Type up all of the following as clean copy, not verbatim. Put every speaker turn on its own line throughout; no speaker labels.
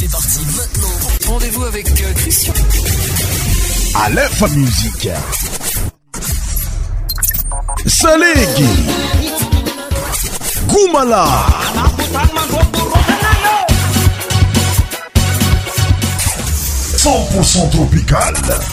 C'est parti maintenant. Rendez-vous avec Christian.
Aleph Musique. Salegi. Goumala. 100% tropical.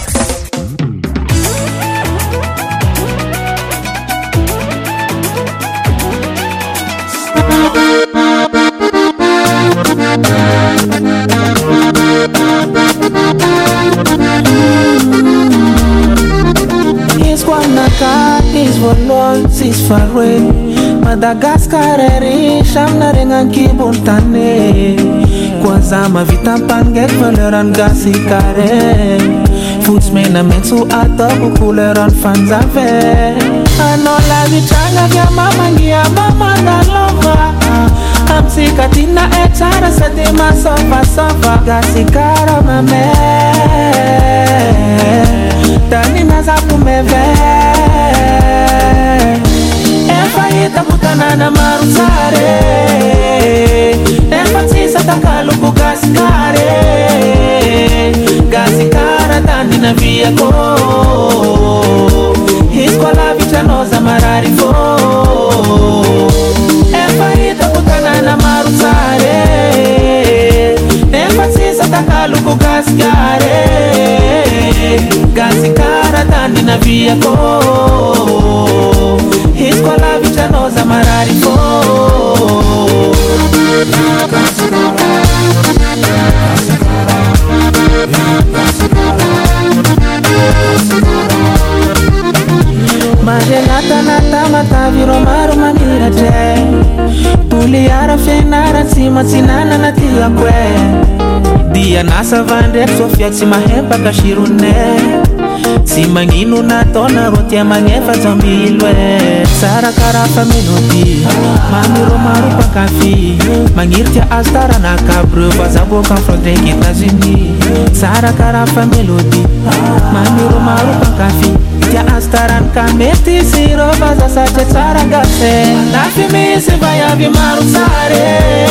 Is Guanaca, is Volon, is Faroe, Madagascar, Sham Narengan Kibuntane, Kwazama Vitampanget, Valeran Gasikare, Foodsman, Mensu Ato, Cooler on Fanzave, Anola Vichanga, Yamama, Mama, Nalova. I'm sick of Tina Etara, Sadima, Sofa, Gasikara, Mame. Tani naza kumeve Efa ita mutana na marusare Efa tisa takaluku gasikare Gasikara tani na viyako Hiskola vichanoza mararifo Efa ita mutana na marusare Efa tisa takaluku gasikare Gasikara tani na viyako Hiskola vichanoza mararifo Magelata nata mata viro maru mamirate Tuliara fenara sima sinana na tia kwe Dia nasa vandek Sofia sima hepa kashirune Sima nginu na tona rotia mangefa zambilwe Sara karafa melodi Mamiro maru pakafi Mangirtia astara na kabru Bazabo confronte kitazini Sara karafa melodi Mamiro maru pakafi Tia astaran kameti siro Baza sache sara gase Lafi misi vaya vi maru sare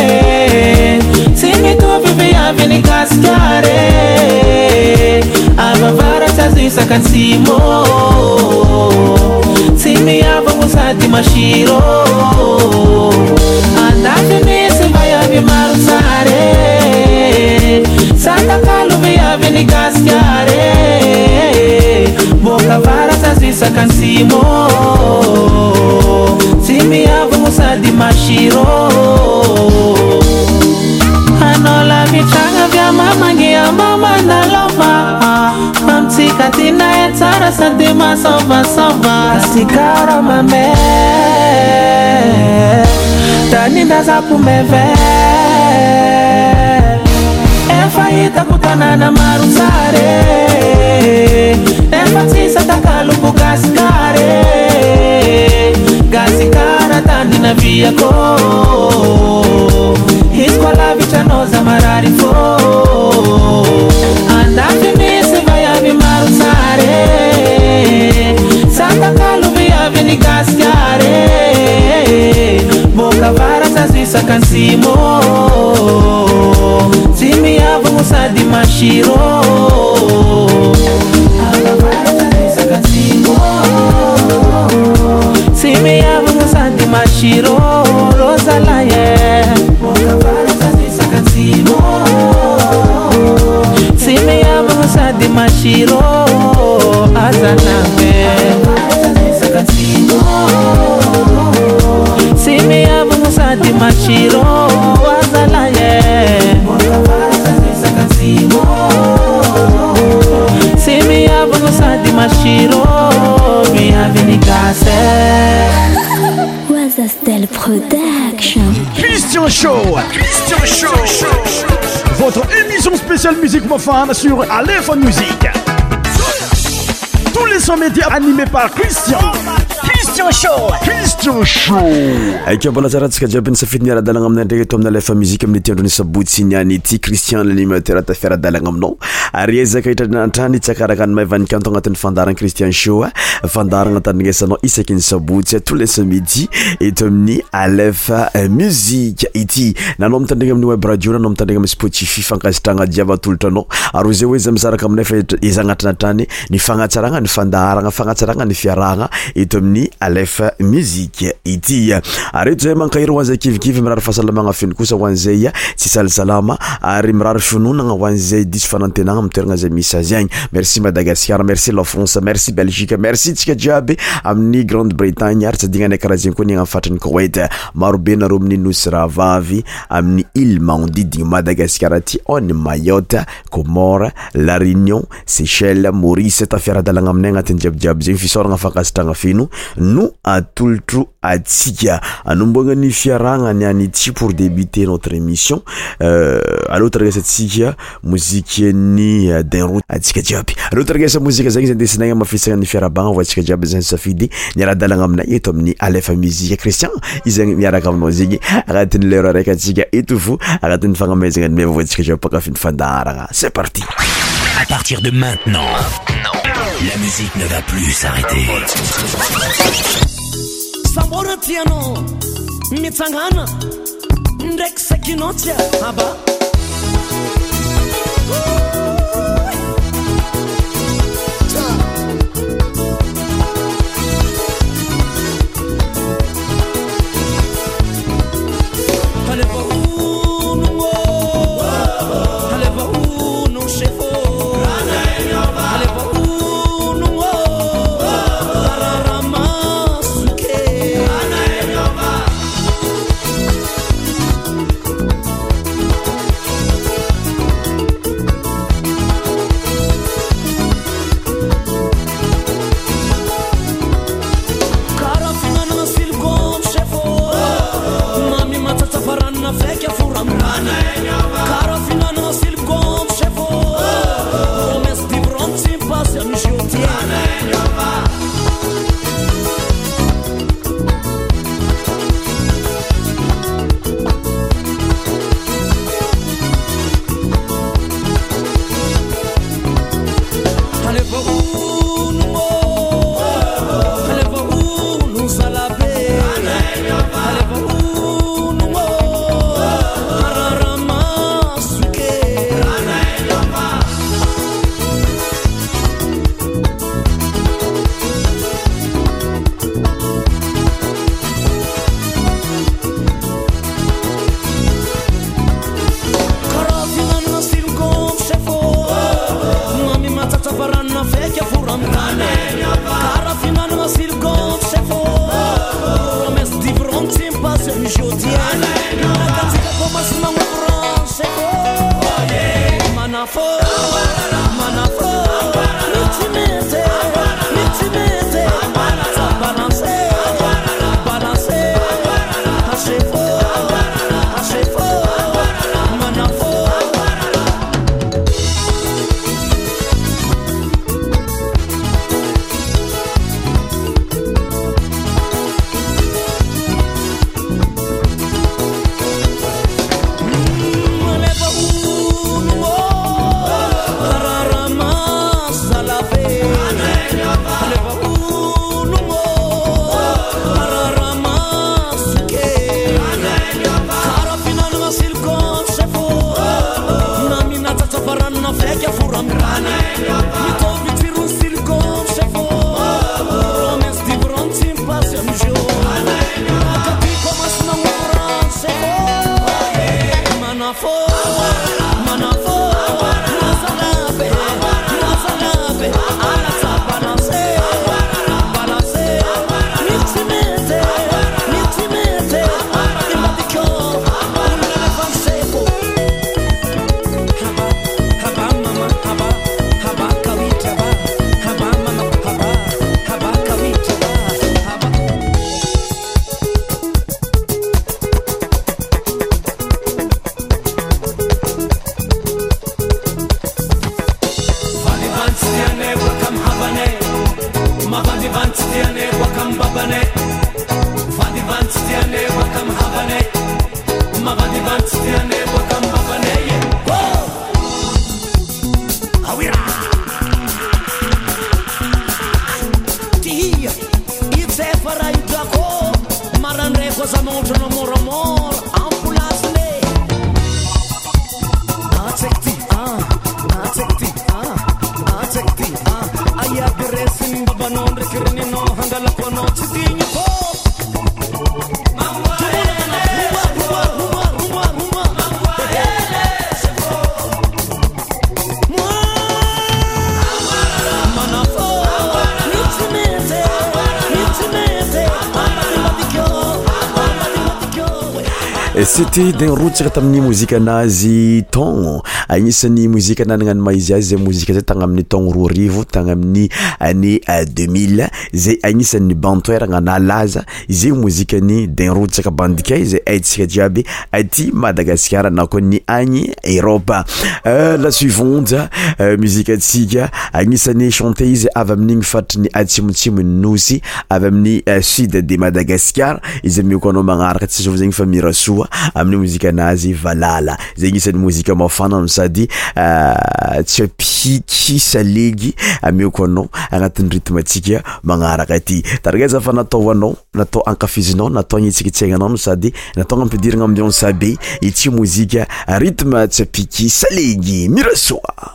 Simi tu vivi avini gaskare Avavara chazisa kansimo Simi ava musati mashiro Andafi misi vaya vi maru sare Santa kalu vi avini gaskare Boka vara chazisa kansimo Simi ava musati mashiro Anola vichanga vya mama ngia mama na lova Mamtika tina etara sadima sova Sikara mame Tani naza kumeve Efa ita kutana na marusare Efa tisa takaluku gasikare Gasikara tani na viyako Hiskola vichanoza mararifo Andafi misi vaya vi marusare Santa kalu via vini gaskare Boka vara sazisa kansimo Simi ava musadi mashiro Ava vara sazisa kansimo Simi ava musadi mashiro Rosalaye Boka vara sazisa kansimo Simi ava musadi mashiro Azaname Sazisa kansimo Simi ava musadi mashiro Azalaye Boka vara sazisa kansimo Simi ava musadi mashiro Bienvenue Gasse
Wazastel Production.
Christian Show. Votre émission spéciale musique profane sur Aleph Musique. Tous les sons médias animés par Christian Christian Show.
Mbola tsaratsika jiaby ny safidy ny ara-dalagna aminay ndraiky eto amin'ny alefa muzika amin'ny tiandrony sabotsy niany ity Christian l'animateur ata fiara-dalagna aminao ary ezaka hitrany tsakaraka ny maivanika anto agnatin'ny fandarana Christian Show fandarana tandringesanao isaky ny sabotsy tous les samedi eto amin'ny alefa muzika ity nanao mitandrigna amin'ny web radio nanao mitandrigna amin'ny Spotify fankasitragna jiaby atolotranao ary zay hoe izy misaraka aminay fa izagnatranatrany ny fagnatsaragna ny fandaragna fagnatsaragna ny fiaragna eto amin'ny alefa muzika ity ary zay mankahiro hoan'izay kivikivy mirary fahasalamagna feno kosa hoan'izay tsy salisalama ary mirary finognana hoan'izay diso fanantenagna amin'ny toeragna zay misy azy agny. Merci Madagascar, merci la France, merci Belgique, merci tsika jiaby amin'ny Grande-Bretagne ary tsy adignanay karaha zegny koa ny agny fatrany Koweït. Marobe nareo amin'ny nosy rahavavy amin'ny île manodidigny Madagascar aty on Mayotte, Comores, La Réunion, Seychelles, Maurice tafiara-dalagna aminay agnatin'ny jiabijiaby zegny fisaoragna fankasitragna feno no atolotro atsika anomboagna ny fiaragna niany ity pour débuter notre émission allo taragasatsika muzika ny den route atsika jiaby allo taragasa muzika zegny zay ndesinagna mafisagna ny fiarabagna voatsika jiaby zay safidy ny ara-dalagna aminay eto amin'ny alefa muzika Christian izagny miaraka aminao zegny agnatin'ny lera araiky atsika eto fo agnatin'ny fagnamezagna ny meva voatsika jiaby pakafiny fandaragna. C'est parti.
À partir de maintenant, la musique ne va plus s'arrêter.
Samora tiano mitsangana ndrek sakinotia aba Maleva
C'était d'un rotsaka tamin'ny mozika anazy taogno agnisan'ny mozika nananano maizy azy zay mozika zay tagny amin'ny taogno 2000 tagny amin'ny année 2000 zay agnisan'ny bantoeragna nalaza izay mozikany d'un rotsaka bandikay zay haitsika jiaby aty Madagasikara na koa ny agny Europe. La suivante muzika atsika agnisan'ny chanteuse avy amin'igny fatriny atsimotsimo nosy avy amin'ny sud de Madagascar izy miokanao magnaraka tsy zao zegny fa mirasoa amin'ny muzika anazy Valala zay agnisan'ny muzika mafana no sady tsapiky salegy amiokanao agnatin'ny rythme atsika magnaraka aty tarigeza fa natao anao natao ankafizinao natao agnitsikitsiagnanao no sady natao ampidiragna ambiance be ity muzika rythme tsapiky salegy mirasoa.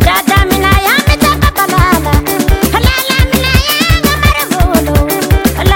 La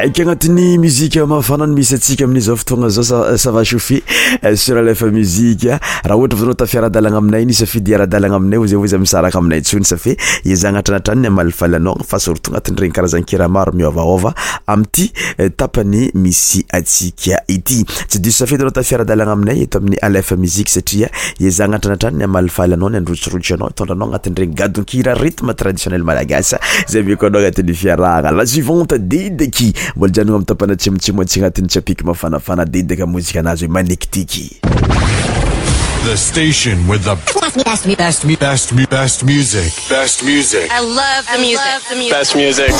aiky agnatin'ny muzika mafanany misy atsika amin'izao fotoagna zao ça va chauffer sur Alefa Musique. Raha ohatra vanao tafiaradalagna aminay ny safidy aradalagna aminay ozy ozy misaraka aminay tsony safe izagnatranatrany amalifalanao fa surtout agnatin'ny regny karazan-kira maro miovaova amty tapany misy atsika ity. Tsy diso safidy anao tafiaradalagna aminay eto amin'ny Alefa Musique satria izagnatranatrany amalifalanao ny androtsirotsy anao tondranao agnatin'ny regny gadonkira rythme traditionnel malagasy zay meko anao agnatin'ny fiarahagna. La suivante Dedeki mbola janogno amin'ny tapana tsimotsimo atsy agnatin'ny tsapiky mafanafana Dedeka mozika anazy hoe manikitiky.
The station with the best music. Best music.
I love the music.
Best music.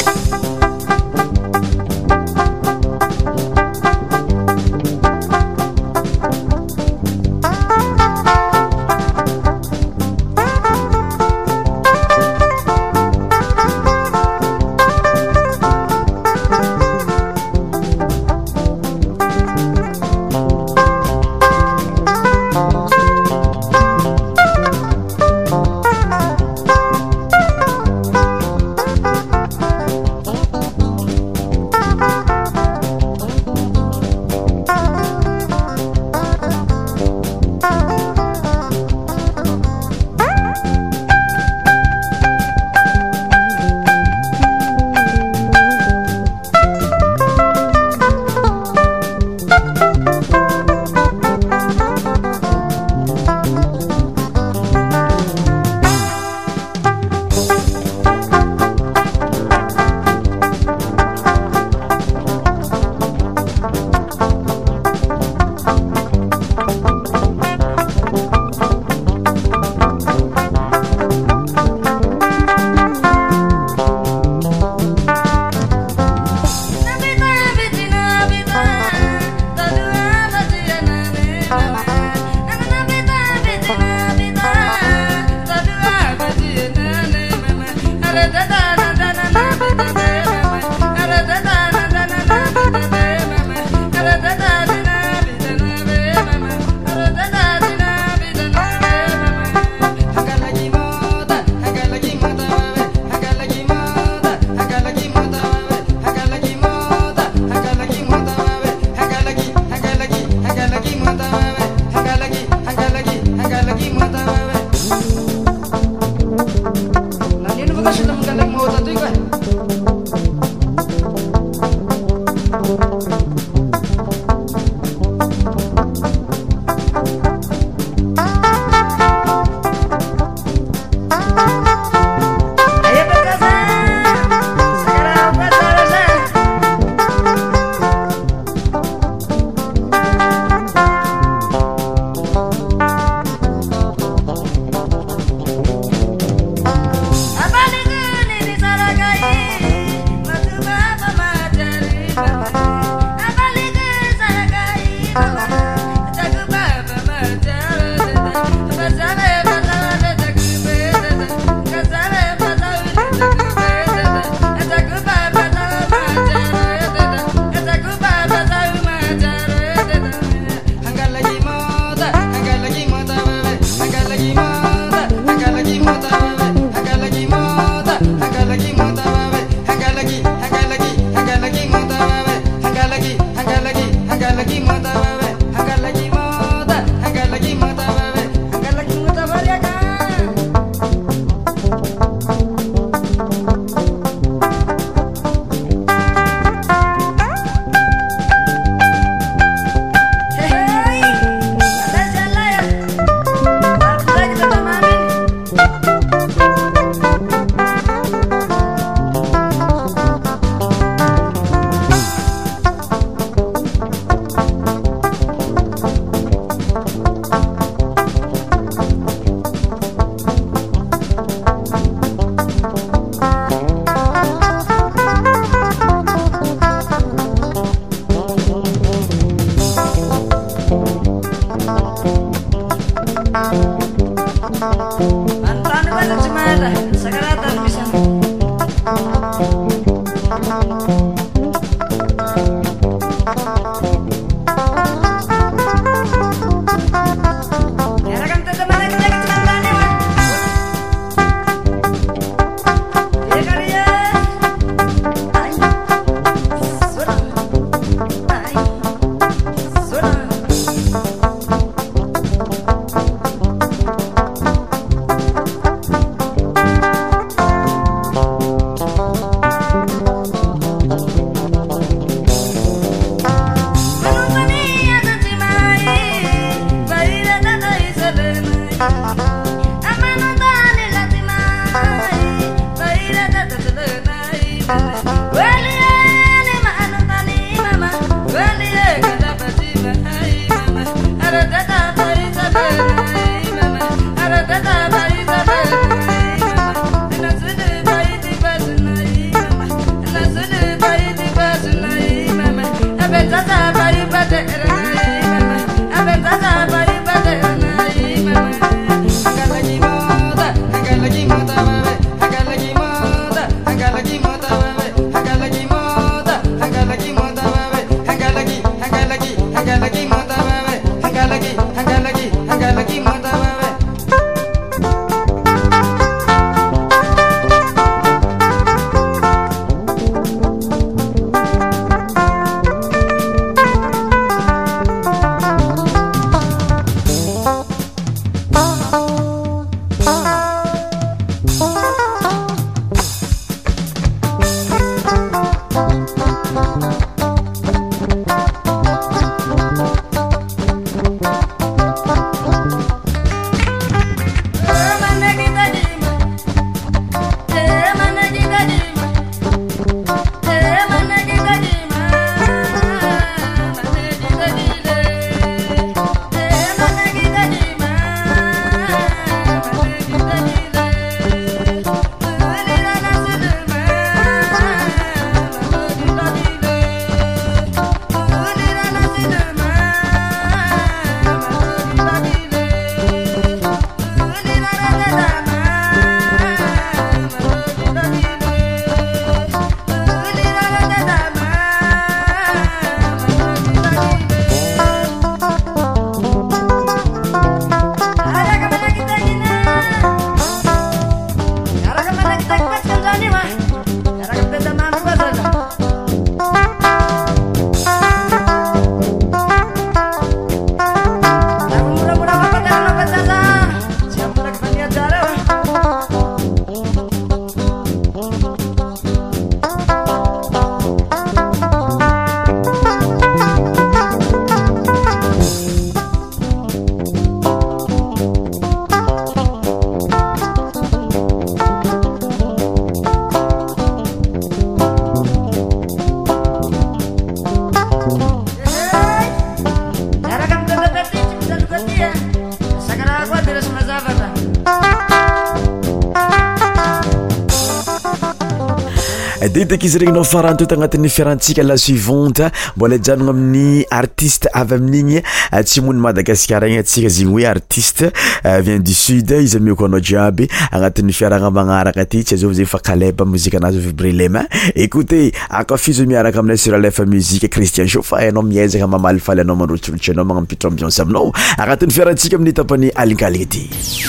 Detek izy regny nao farany toeto agnatin'ny fiarantsika la suivante mbola janogno amin'ny artiste avy amin'igny tsy mony Madagasikara igny atsika zegny hoe artiste vient du sud izy miokanao jiaby agnatin'ny fiaragna magnaraka ty tsy azov zegny fa Caleb muzika anazy vibrer les mains. Écoutez akafizo miaraka aminay sur Alefa Musique Christian Show fa anao miezaka mamalifaly anao mandrotsirotsy anao magnampitro ambiance aminao agnatin'ny fiarantsika amin'ny tapany alinkaligny ty.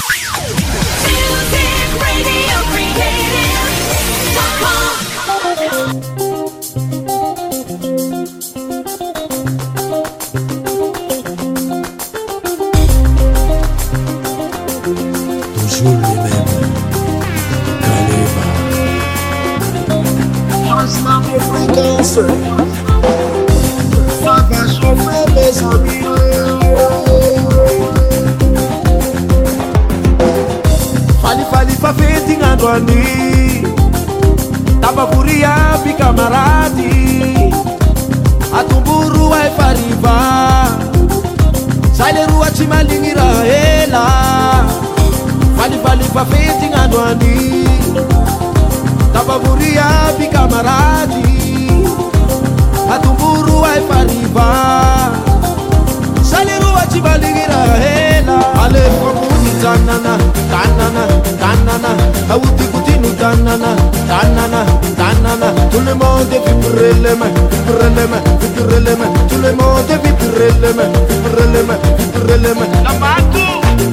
Fali fa fetingando ani tabavuria pi camaradi atumburu ai pariva sai le rua ci malingira ela fali fa fetingando ani tabavuria pi camaradi atumburu ai pariva sai le rua ci malingira ela ale komuni tanana tanana auti kutinu tanana tout le monde vibrer les mains tout le monde vibrer les mains la matu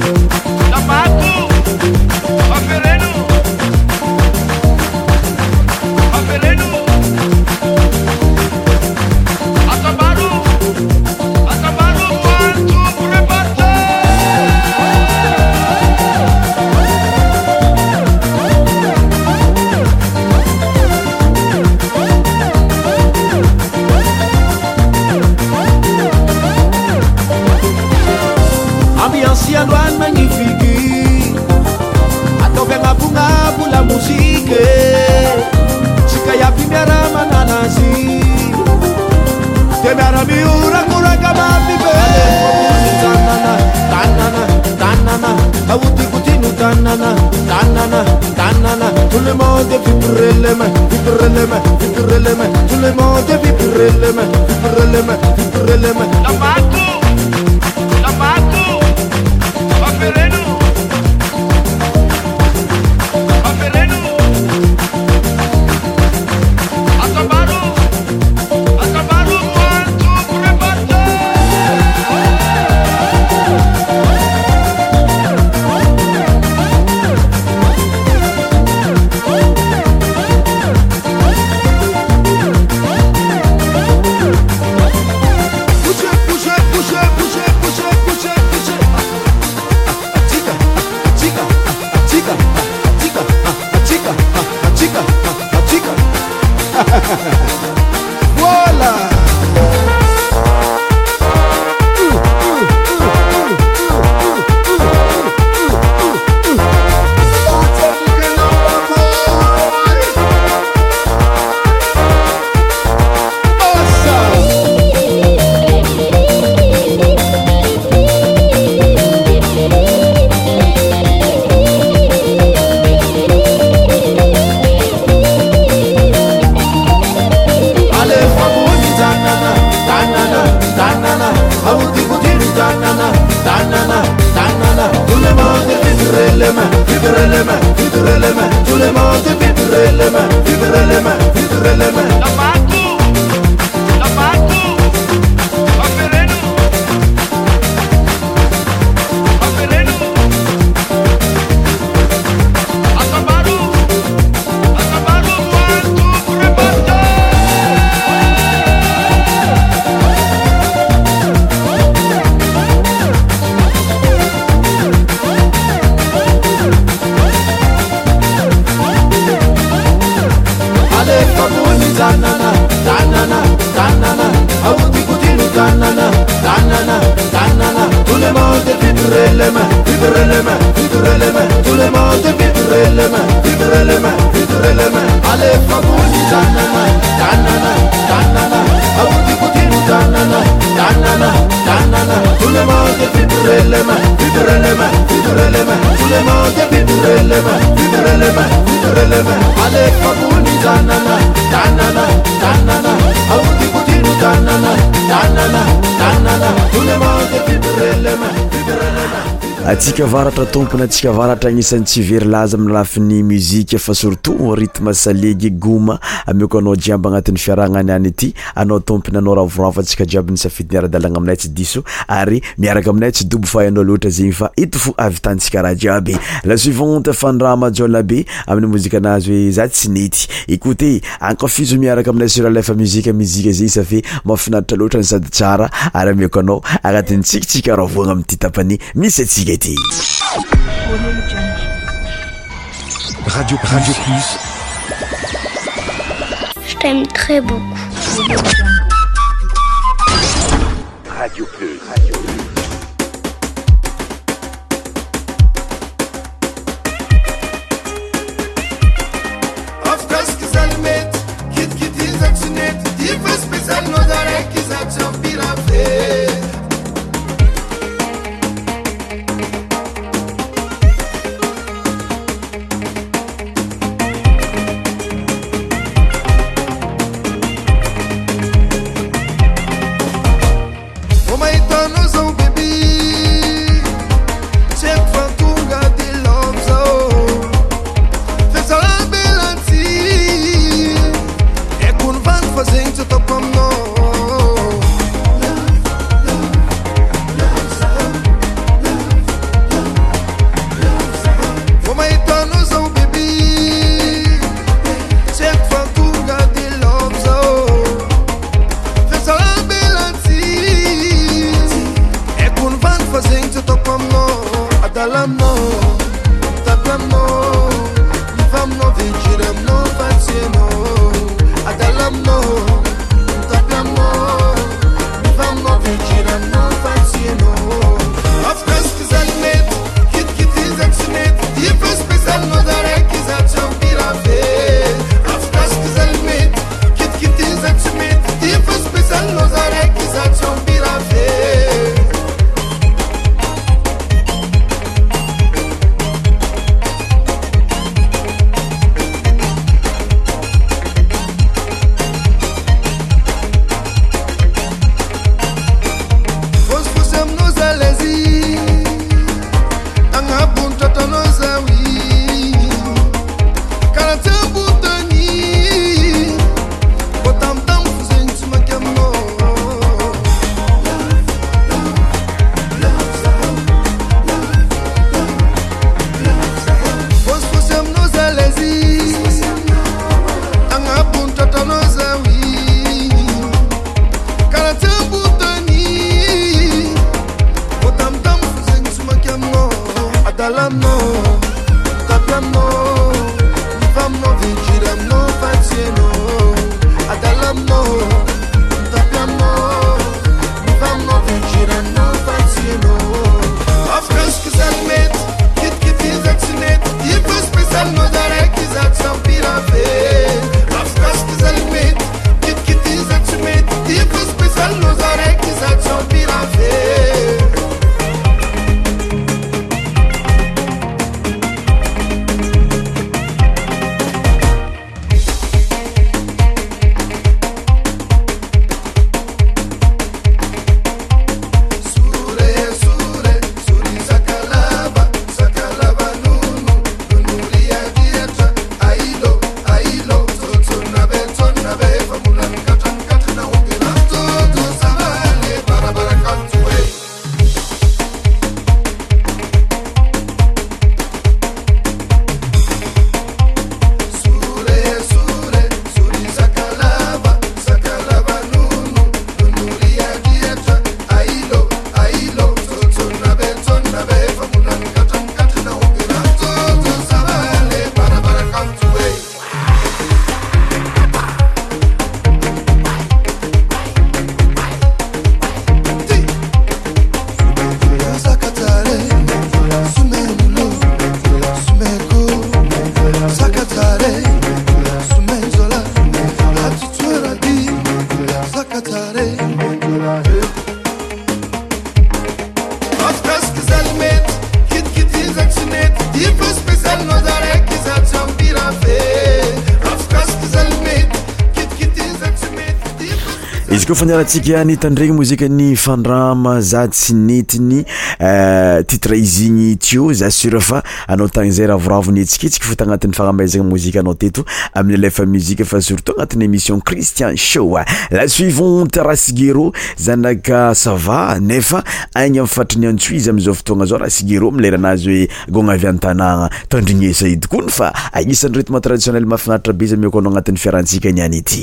aferenu atabaru quanto pure parte. Ambiance magnifique monde vibrer les mains, vibrer les mains, vibrer les mains. Tout le monde vibrer les mains, vibrer les mains, vibrer les mains. La Marco, Afereno.
atsika varatra tompony atsika varatra agnisan'ny tsy very laza amin'ny lafin'ny muzika fa surtout rythme salegy goma ameko anao jiaby agnatin'ny fiaragnany any ity anao tompony anao ravoravo atsika jiaby ny safidy miara-dalagna aminay tsy diso ary miaraka aminay tsy dobo fa anao loatra zegny fa ito fo avitantsika raha jiaby la suivante fandrama jolabe amin'ny mozika anazy hoe za tsy nety écoutez ankafizo miaraka aminay sur alefa muzika zegny ça fait mafinaritra loatra ny sady tsara ary ameko anao agnatin'ny tsikitsika ravoagna amin'ny ty tapany misy atsika ity
Radio Plus.
Je t'aime très beaucoup.
Radio Plus.
Nos
izy koa fanarahantsika nitandregny mozika ny fandrama za tsy netiny titre izy igny tio za sûr fa anao tagny zay ravoravo nihetsiketsika fo tagnatin'ny fagnamezagna mozika anao teto amin'ny alefa musique fa surtout agnatin'ny émission Christian Show. La suivante Rasigero zanaka sava nefa agny amin'ny fatriny antsoy izy am'izao fotoagna zao Rasigero mileranazy hoe gogna avy an-tanàgna tandrignesa edy koa fa agnisan'ny rythme traditionnel mahafinaritra be izy mioko anao agnatin'ny fiarantsika niany ity.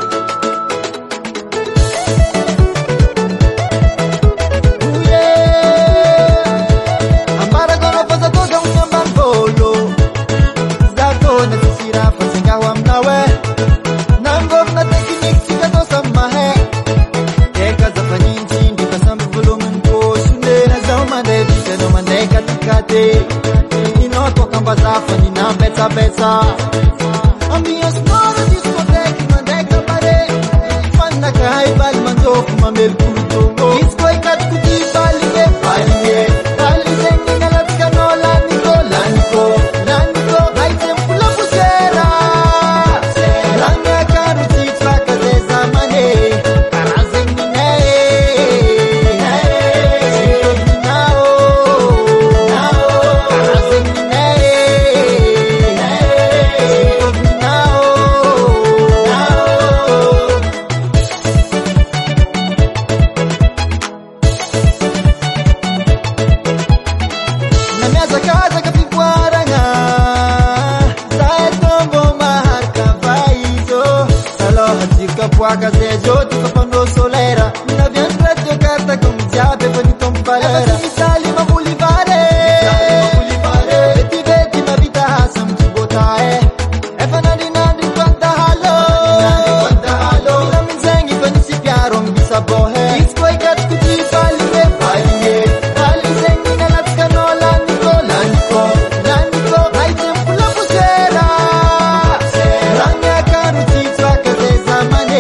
Besa a minha senhora discoteca mandeca pare fanna kai bal mandou uma melkuto disco kat kuti balie bali zengi nalat canola nico hai tempo la pusera ranga karuti traka de zamane arazengi Casejo tu quando solera na viandra de carta com diabo bonito valera misali ma bulivare vedi na vita sam tu botae e fanani nandi quanta halo na minzengi quando si piaro mi sabohe disco e gat tu ti bali zengi na la canola nico hai tempo la pusera ranga caruti traka de zamane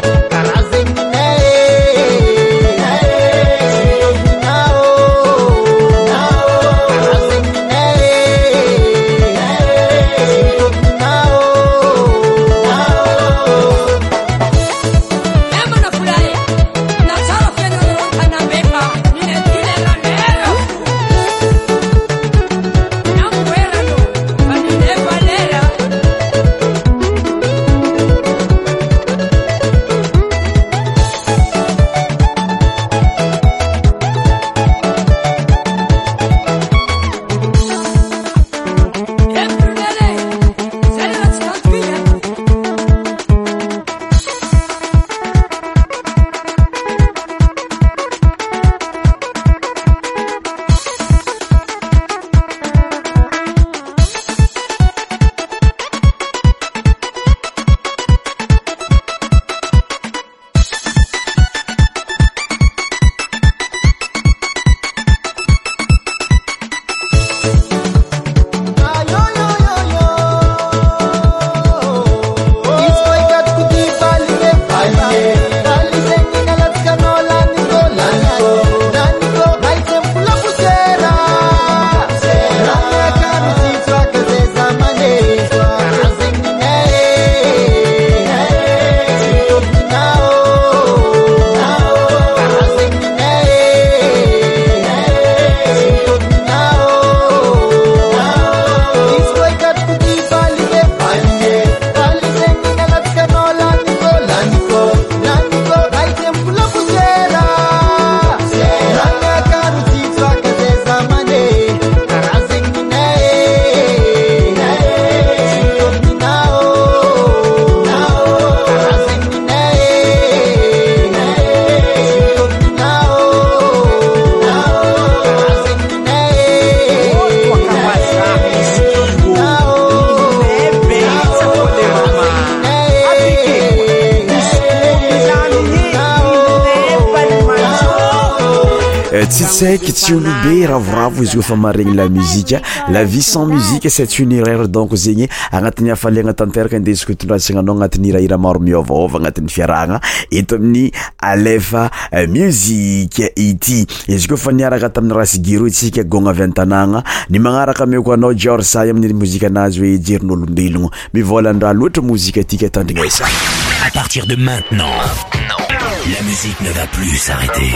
Tsitsek tsy olobe ravoravo izy koa fa maregny la musique, la vie sans musique c'est une erreur donc zegny agnatin'ny hafaliagna tanteraka indesiko itondrasagna anao agnatin'ny hirahira maro miôvaôva agnatin'ny fiarahagna eto amin'ny alefa musique ity. Izy koa fa niaraka tamin'ny Rasigero itsika gogna avy an-tanàgna ny magnaraka meko anao George Say amin'ny mozika anazy hoe jerin'olombelogno mivolan-draha loatra mozika atika tandrignesa.
À partir de maintenant, La musique ne va plus s'arrêter.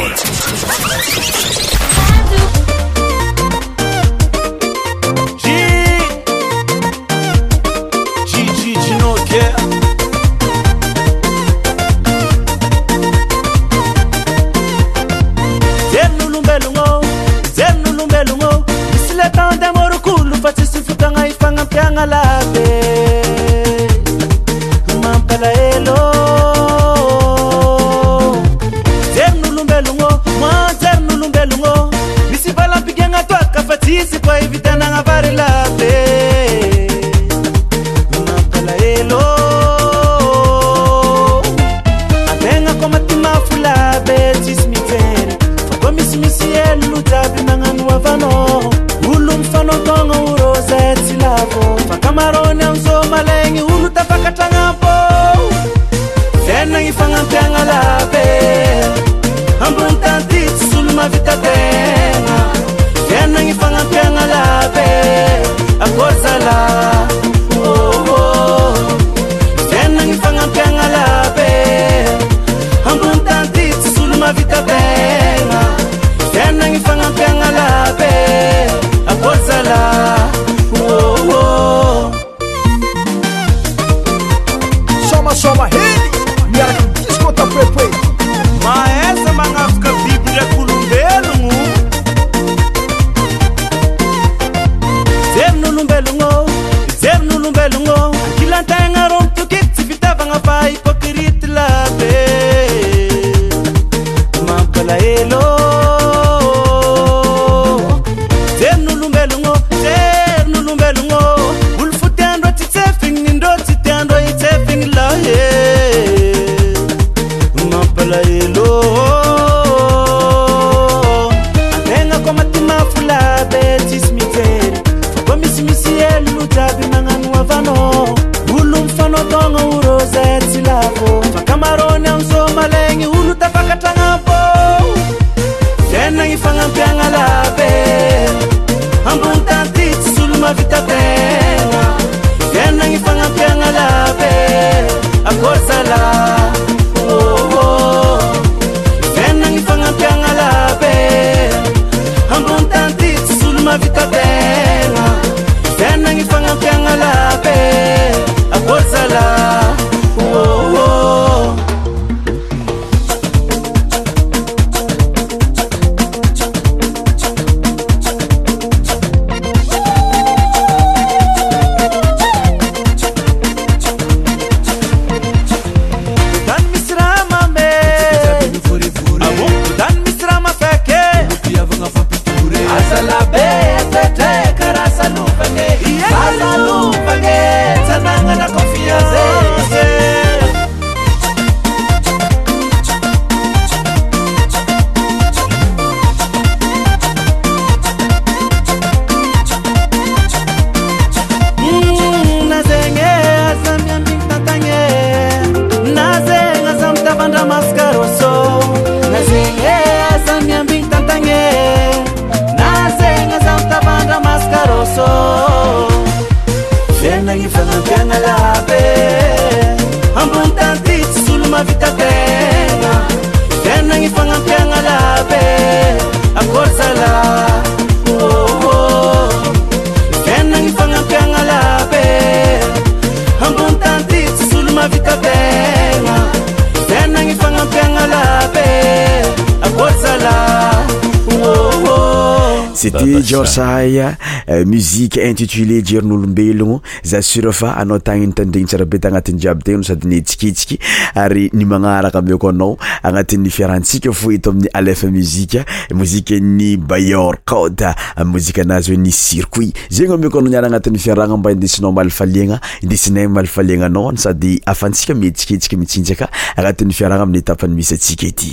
C'était Jorsaya, musique intitulée Jern'olombelogno. Za sûr fa anao tagny nitandregny tsara be tagnatin'ny jiaby tegno sady nihetsikitsiky ary ny magnaraka ameko anao agnatin'ny fiarantsika fo eto amin'ny Alefa Musique, mozika ny Bayor Code, mozika anazy hoe ny circuit. Zegny ameko anao niara agnatin'ny fiaragna mba indesinao malifaliagna, indesinay malifaliagna anao sady afantsika mihetsiketsika mitsinjaka agnatin'ny fiaragna amin'ny etapany misy atsika ety.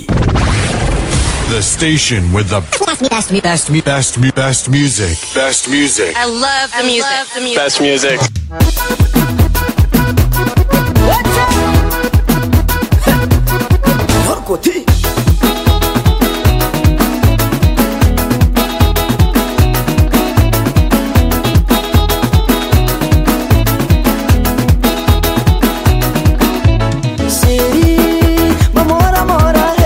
The station with the best music. Best music.
I love the music.
Best music.
Sì, ma amore,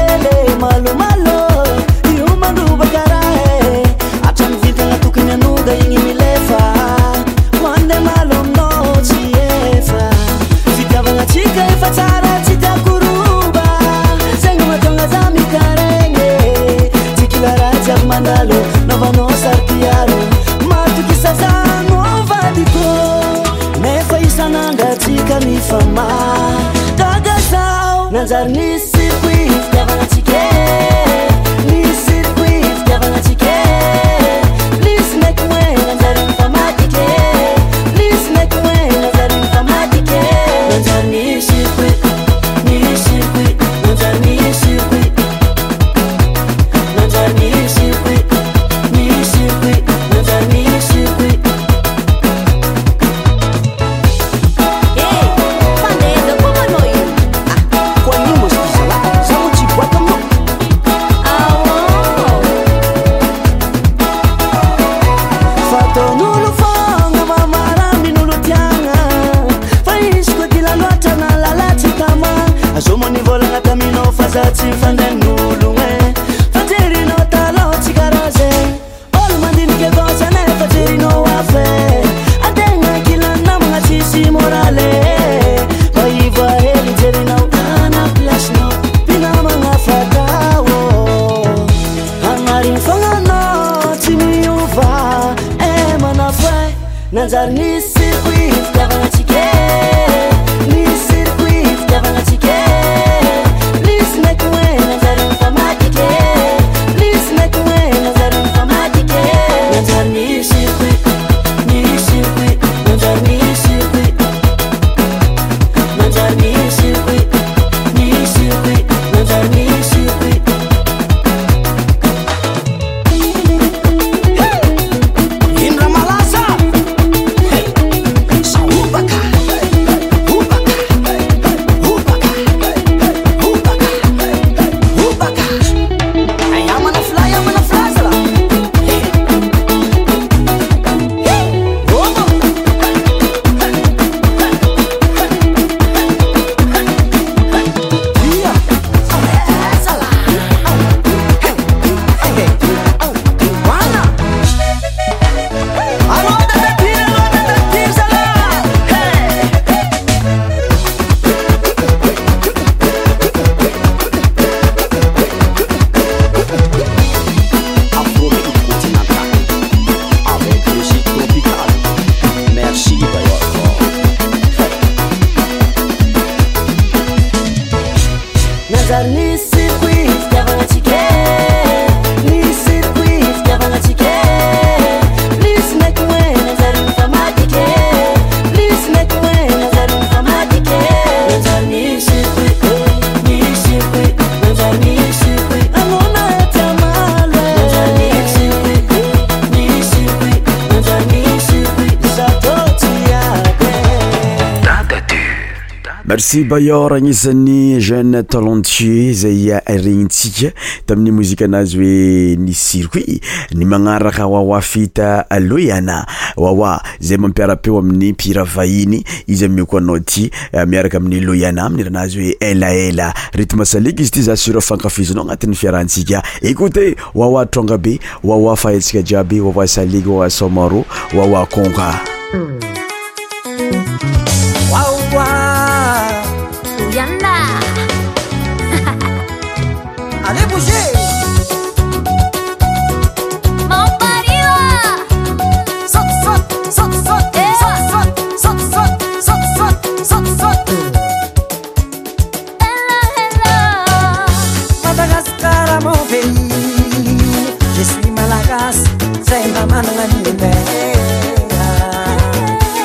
angalo navanao sarpiaro matoky sazano avadiko nefa isan'andratsika mifama gaga zao nanjary ny circuit fitiavanatsika ny circuit fitiavanatsika please make way nanjary mifamatike please make way nanjary mifamatike nanjary ny circuit nanjary ny circuit nanjary ny circuit nanjary ny circuit Zatsy fandan'ologna fajerinao talao tsy karaha zay olo mandiniky avaotsy anay fajerinao afe ategna kilany namagna tsisy morale mba iva hely jerinao ana plasinao mpinamagna fatao agnariny fagnanao tsy miova manafo nanjary ny circuit fitiavanatsika ny circuit fitiavanatsika
Merci Bayor agnisan'ny jeune talentueux zay regnintsika tamin'ny mozika anazy hoe ny circuit ny magnaraka Wawa fita Loyana Wawa zay mampiara-peo amin'ny mpira vahiny izy amio koa anao ty miaraka amin'ny Loyana amin'ny ranazy hoe ela rythme saliky izy ty za sur fankafizinao agnatin'ny fiarantsika écoutez Wawa tronga be Wawa fahatsika jiaby Wawa saliky Wawa somaro Wawa konka
Allez bouger. Mon pariwa. Saute. Hello. Madagascar mon pays. Je suis Malagas. C'est ma manangani.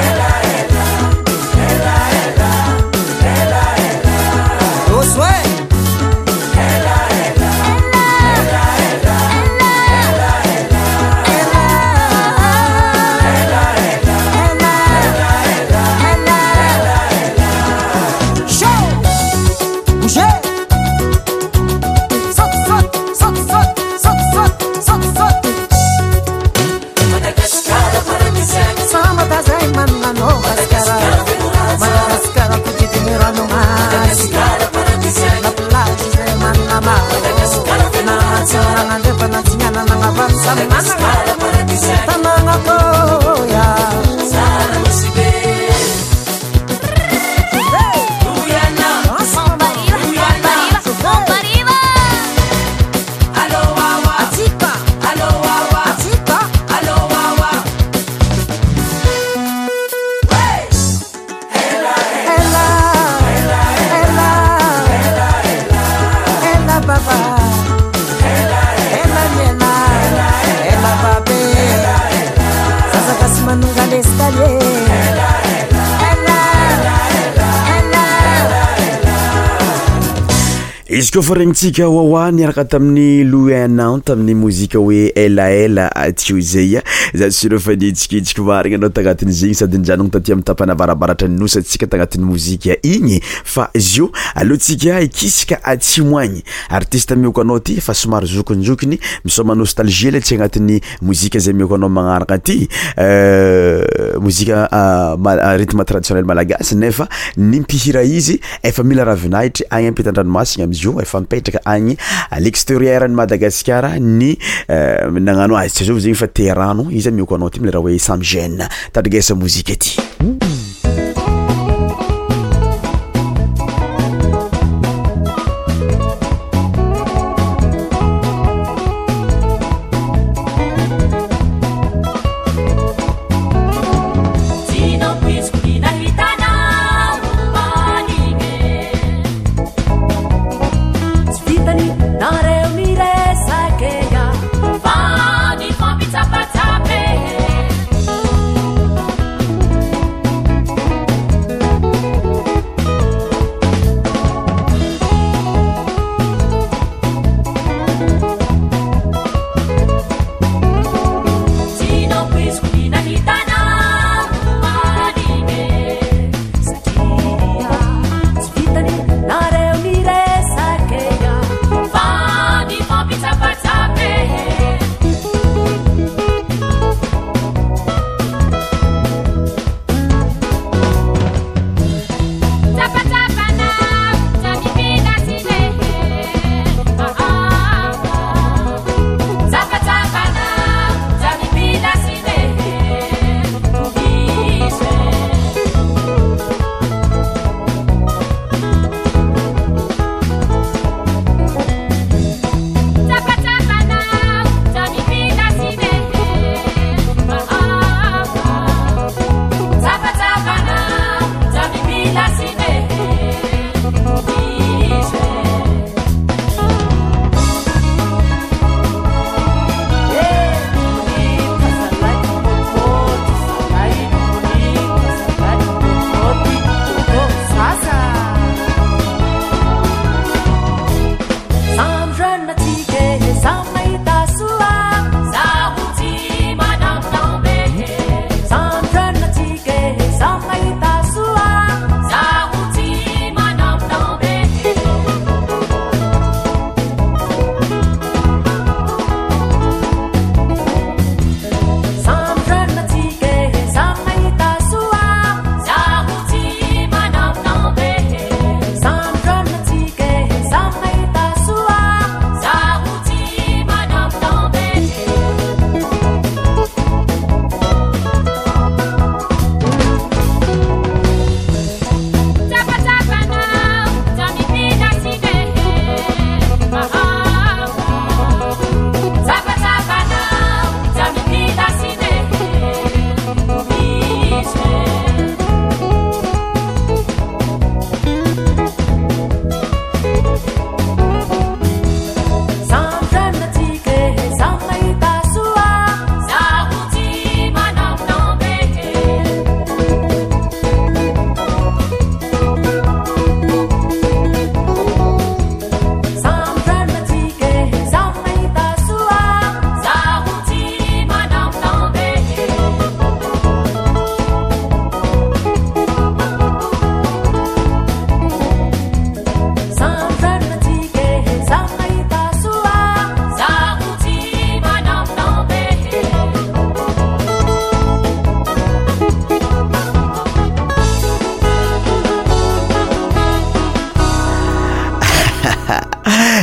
izy koa fa regnitsika wawa niaraka tamin'ny Louis Nantes tamin'ny mozika hoe elaela atio zay za sura fa nitsikitsika marigna anao tagnatin'ny zegny sady njanogno taty amin'ny tapana avarabaratra ny nosatsika tagnatin'ny mozika igny fa zio alohantsika ikisika atsimoagny artiste mioko anao ty fa somary zokonjokony misoma nostalgie le tsy agnatin'ny mozika zay mioko anao magnaraka ty mozika rythme traditionnel malagasy nefa nimpihira izy efa mila ravinahitry agny ampitan-dranomasigna amizio efa mipetraka agny à l'extérieur ny Madagasikara ny nagnano azy tsy zao zegny fa terano izy mioko anao ty mila raha hoe Sam Gène tadrigesa mozika ty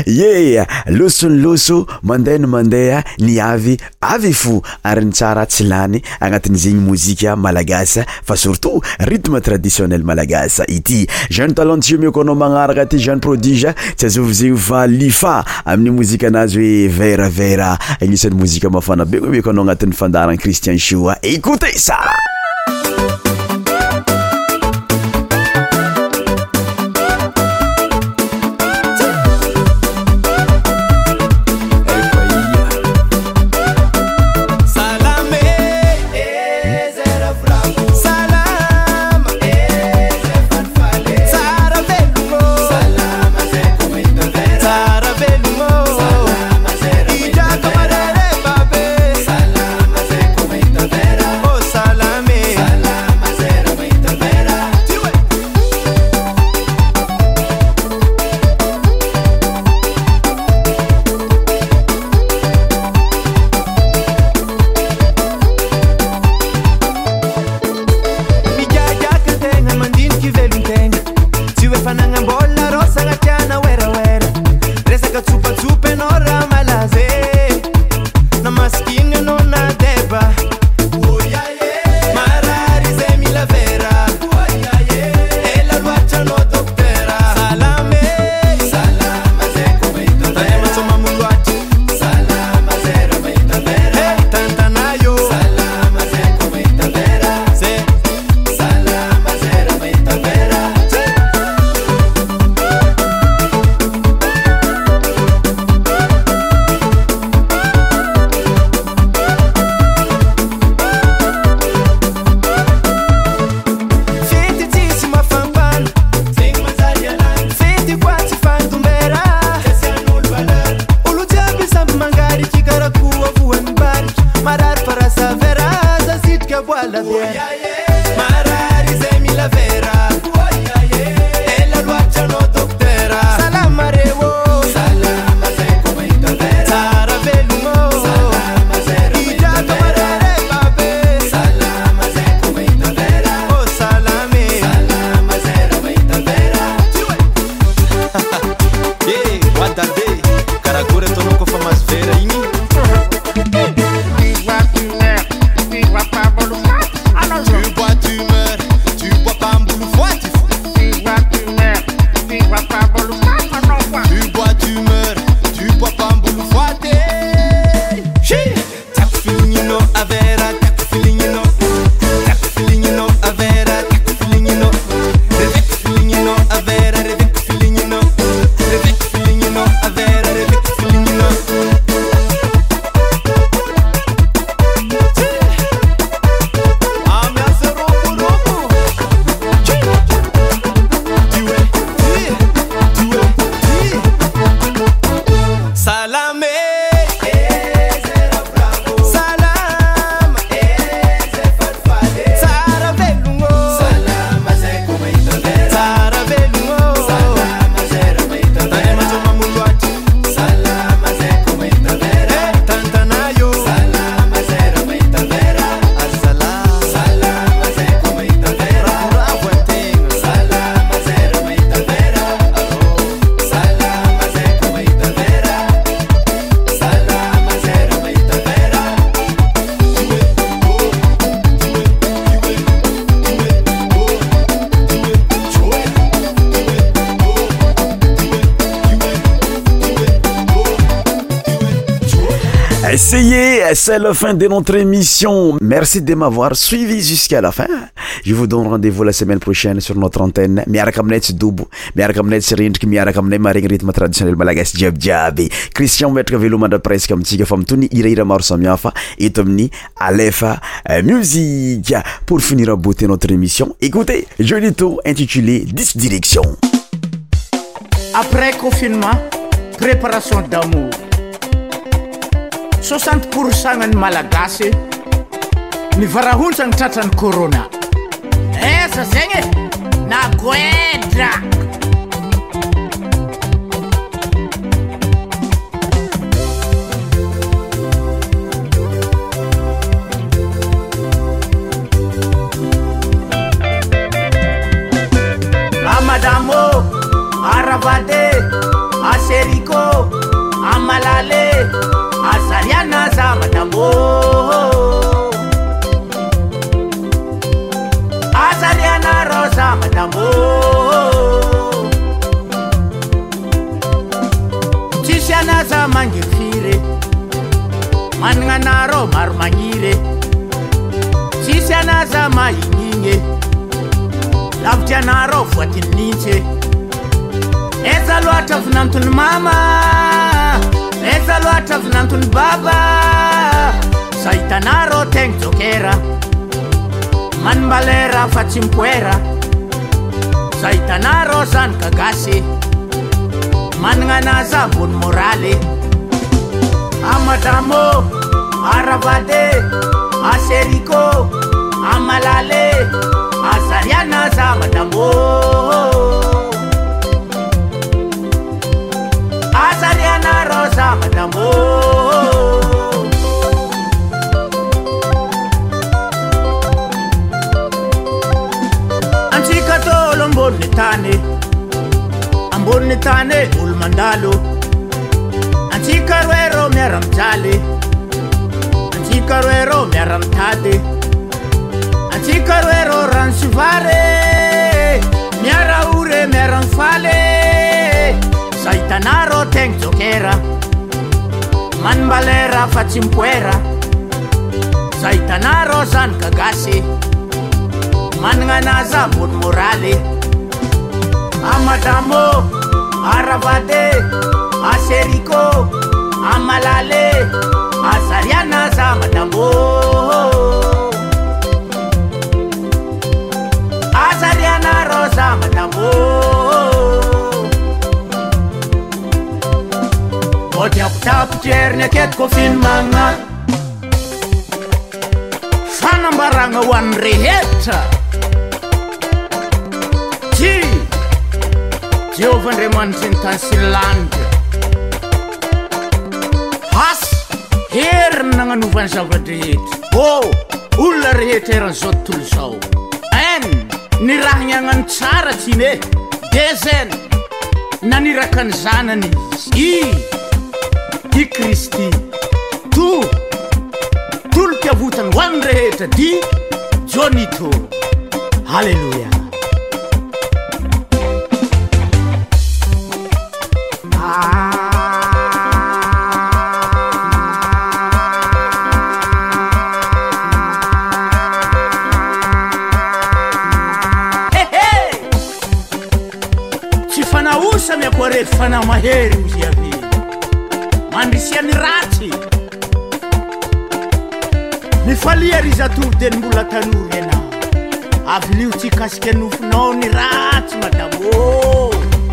ye losony loso mandeha no mandeha ny avy fo ary ny tsara tsy lany agnatin'izegny mozika malagasy fa surtout rythme traditionnel malagasy ity jeune talentueux miokonao magnaraka ty jeune prodige tsy azovizegny fa lifa amin'ny mozika anazy hoe vera agnisan'ny mozika mafana be miokonao agnatin'ny fandaran Christian Show. Écoutez ça. C'est la fin de notre émission. Merci de m'avoir suivi jusqu'à la fin. Je vous donne rendez-vous la semaine prochaine sur notre antenne. Miaraka aminay tsy dobo, miaraka aminay tsy rindriky, miaraka aminay maregny rythme traditionnel malagasy jiabijiaby. Christian metraka velomandra presque amitsika fa mitony hirahira maro samihafa eto amin'ny Alefa Musique. Pour finir à beauté notre émission, écoutez Joli Tour intitulé 10 directions.
Après confinement, préparation d'amour. 60% ny malagasy ny varahontsany tratrany corona. Esa zegny na goedra. Amadamo, Aravade, Aseriko, madambo azaliana rosa madambo tsisy anaza mangifiry managna anareo maro magniry tsisy anaza mahignigny lavitry anareo voatininitsy eza loatra vinantony mama eza loatra vinantony baba sa hitanareo tegna jokera manimbalera fa tsy mipoera sa hitanareo zany kagasy managna anazy ambony moraly amadamo aravade aseriko amalale azariana za madambo azariana rosa madambo antsika tolo ambony tany olo mandalo antsika roero miara-mijaly antsika roero miara-mitady antsika roero rano sy vary miara ore miara-mifaly sa hitanareo tegna jokera manimbalera fa tsy mipoera sa hitanareo zany kagasy managna anazy ambony moraly amadamo aravade aseriko amalale azariana za madambo azariana rosa madambo odiapotapotry heriny aketiko filmagna fanambaragna ho an'ny rehetra ty Jehovah Andriamanitra ny tany sy lanitra asy heriny nagnanovany zavadrehetra olona rehetra eran'izao tontolo zao ny raha gnagnano tsara tsy ne de zany naniraka ny zanany izy i Kristy tolo-piavotany ho an'ny rehetra di jonito halleluja miakoare fana mahery ozy ave mandrisiany ratsy mifalia ry zatody ny mbola tanory anao avilio tsy kasika nofinao ny ratsy madamo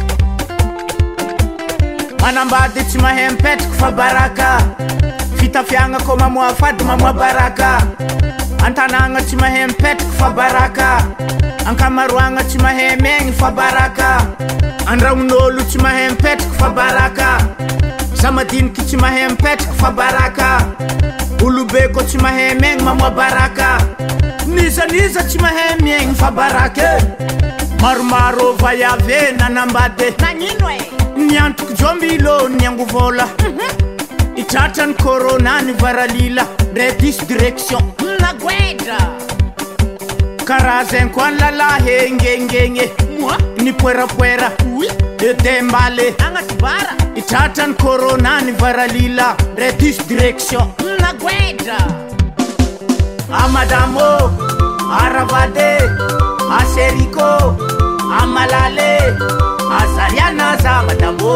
manambady tsy mahay mipetraka fa baraka fitafiagna ko mamoa fady mamoa baraka antanagna tsy mahay mipetraka fa baraka ankamaroagna tsy mahay megny fa baraka andragnon'olo tsy mahay mipetraka fa baraka zamadiniky tsy mahay mipetraka fa baraka olobe ko tsy mahay megny mamoa baraka nizaniza tsy mahay miegny fa baraka maromaro vayave nanambady nagnino niantroko jombilo niangovola itratrany corona ny varalila ndray dis direction naguedra karazany koa ny lalahy engengenge ny poerapoera edembale agnatibara itratrany corona ny varalila ndray dis direction naguedra amadamo aravade aseriko amalale azariana za madambo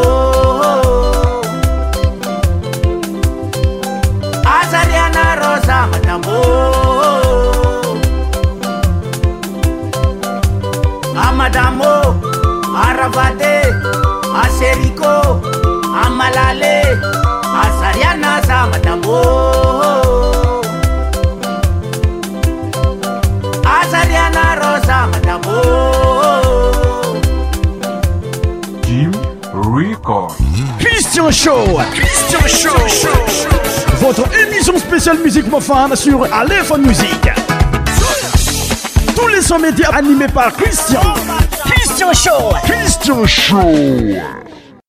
azariana rosa madambo amadamo aravade aseriko amalale azariana za madambo azariana rosa madambo
Jim Record.
Christian Show. Votre émission spéciale musique mofane sur Aléphone Musique. Tous les sons médias animés par Christian Show.